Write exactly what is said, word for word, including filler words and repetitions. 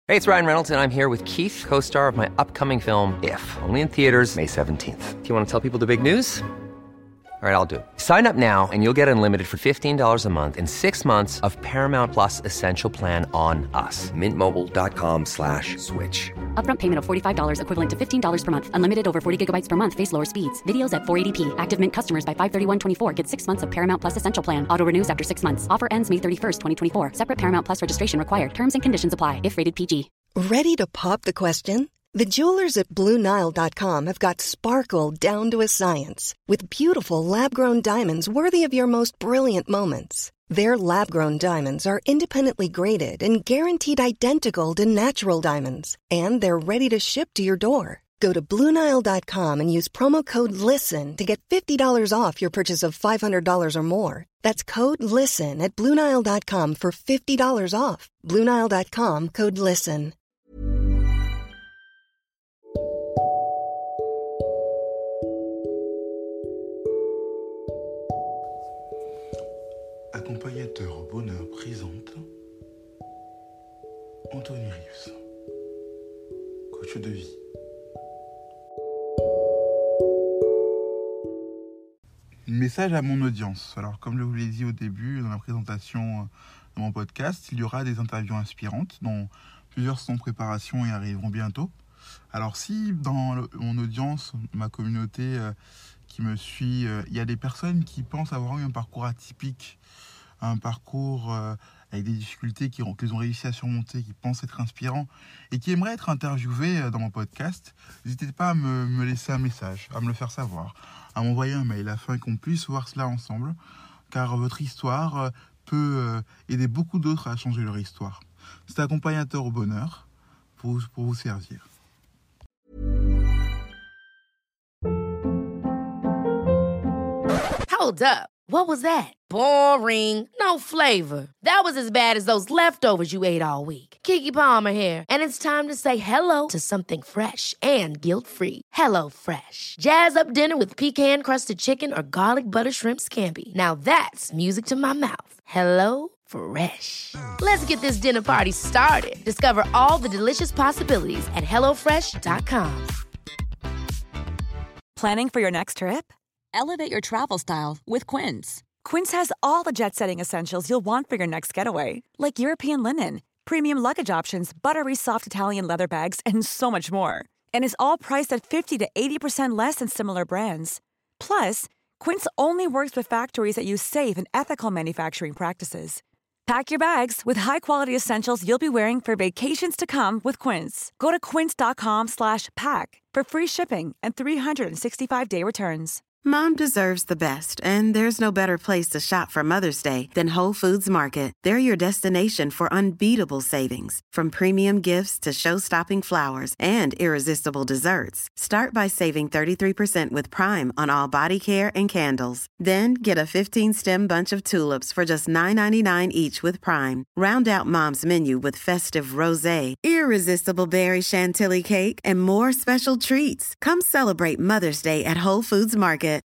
Hey, it's Ryan Reynolds, and I'm here with Keith, co-star of my upcoming film, If, only in theaters May seventeenth. Do you want to tell people the big news? All right, I'll do it. Sign up now and you'll get unlimited for fifteen dollars a month and six months of Paramount Plus Essential Plan on us. Mint Mobile dot com slash switch. Upfront payment of forty-five dollars equivalent to fifteen dollars per month. Unlimited over forty gigabytes per month. Face lower speeds. Videos at four eighty p. Active Mint customers by five thirty-one twenty-four get six months of Paramount Plus Essential Plan. Auto renews after six months. Offer ends May thirty-first, twenty twenty-four. Separate Paramount Plus registration required. Terms and conditions apply if rated P G. Ready to pop the question? The jewelers at Blue Nile dot com have got sparkle down to a science with beautiful lab-grown diamonds worthy of your most brilliant moments. Their lab-grown diamonds are independently graded and guaranteed identical to natural diamonds, and they're ready to ship to your door. Go to Blue Nile dot com and use promo code LISTEN to get fifty dollars off your purchase of five hundred dollars or more. That's code LISTEN at Blue Nile dot com for fifty dollars off. Blue Nile dot com, code LISTEN. Accompagnateur au bonheur présente Anthony Rius, coach de vie. Message à mon audience. Alors, comme je vous l'ai dit au début, dans la présentation de mon podcast, il y aura des interviews inspirantes, dont plusieurs sont en préparation et arriveront bientôt. Alors, si dans le, mon audience, ma communauté euh, qui me suit, euh, il y a des personnes qui pensent avoir eu un parcours atypique, un parcours euh, avec des difficultés qu'ils ont, qu'ils ont réussi à surmonter, qui pensent être inspirants et qui aimeraient être interviewés euh, dans mon podcast, n'hésitez pas à me, me laisser un message, à me le faire savoir, à m'envoyer un mail afin qu'on puisse voir cela ensemble, car votre histoire euh, peut euh, aider beaucoup d'autres à changer leur histoire. C'est accompagnateur au bonheur pour, pour vous servir. Hold up. What was that? Boring. No flavor. That was as bad as those leftovers you ate all week. Keke Palmer here, and it's time to say hello to something fresh and guilt-free. Hello Fresh. Jazz up dinner with pecan-crusted chicken or garlic butter shrimp scampi. Now that's music to my mouth. Hello Fresh. Let's get this dinner party started. Discover all the delicious possibilities at hello fresh dot com. Planning for your next trip? Elevate your travel style with Quince. Quince has all the jet-setting essentials you'll want for your next getaway, like European linen, premium luggage options, buttery soft Italian leather bags, and so much more. And is all priced at fifty to eighty percent less than similar brands. Plus, Quince only works with factories that use safe and ethical manufacturing practices. Pack your bags with high-quality essentials you'll be wearing for vacations to come with Quince. Go to quince dot com slash pack for free shipping and three sixty-five day returns. Mom deserves the best, and there's no better place to shop for Mother's Day than Whole Foods Market. They're your destination for unbeatable savings, from premium gifts to show-stopping flowers and irresistible desserts. Start by saving thirty-three percent with Prime on all body care and candles. Then get a fifteen-stem bunch of tulips for just nine ninety-nine each with Prime. Round out Mom's menu with festive rosé, irresistible berry chantilly cake, and more special treats. Come celebrate Mother's Day at Whole Foods Market.